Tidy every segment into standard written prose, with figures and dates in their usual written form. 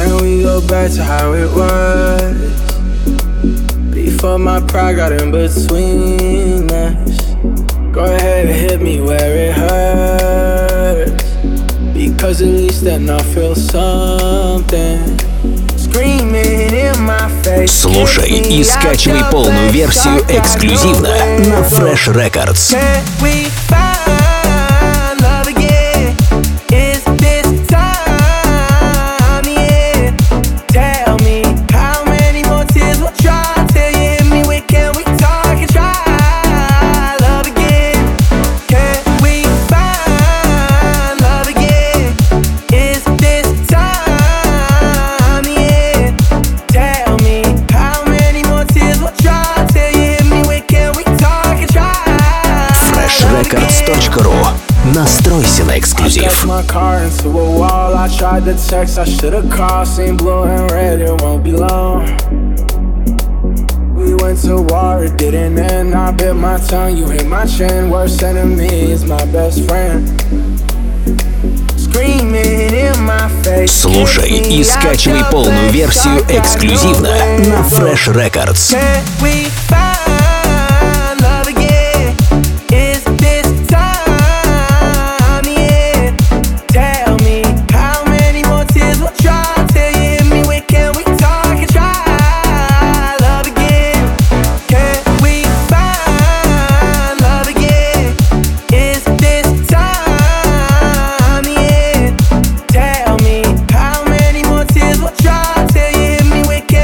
Can we go back to how it was? Before my pride got in between us. Go ahead and hit me where it hurts, because at least then I feel something. Screaming in my face. Слушай и скачивай полную версию эксклюзивно на Fresh Records. Records.ru. Настройся на эксклюзив. We went to war, it didn't end. I bit my tongue, you hit my chin. Worst enemy is my best friend. Screaming in my face. Слушай и скачивай полную версию эксклюзивно на Fresh Records.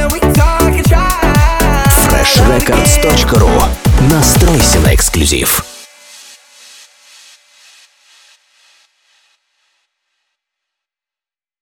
Records.ru. Настройся на эксклюзив.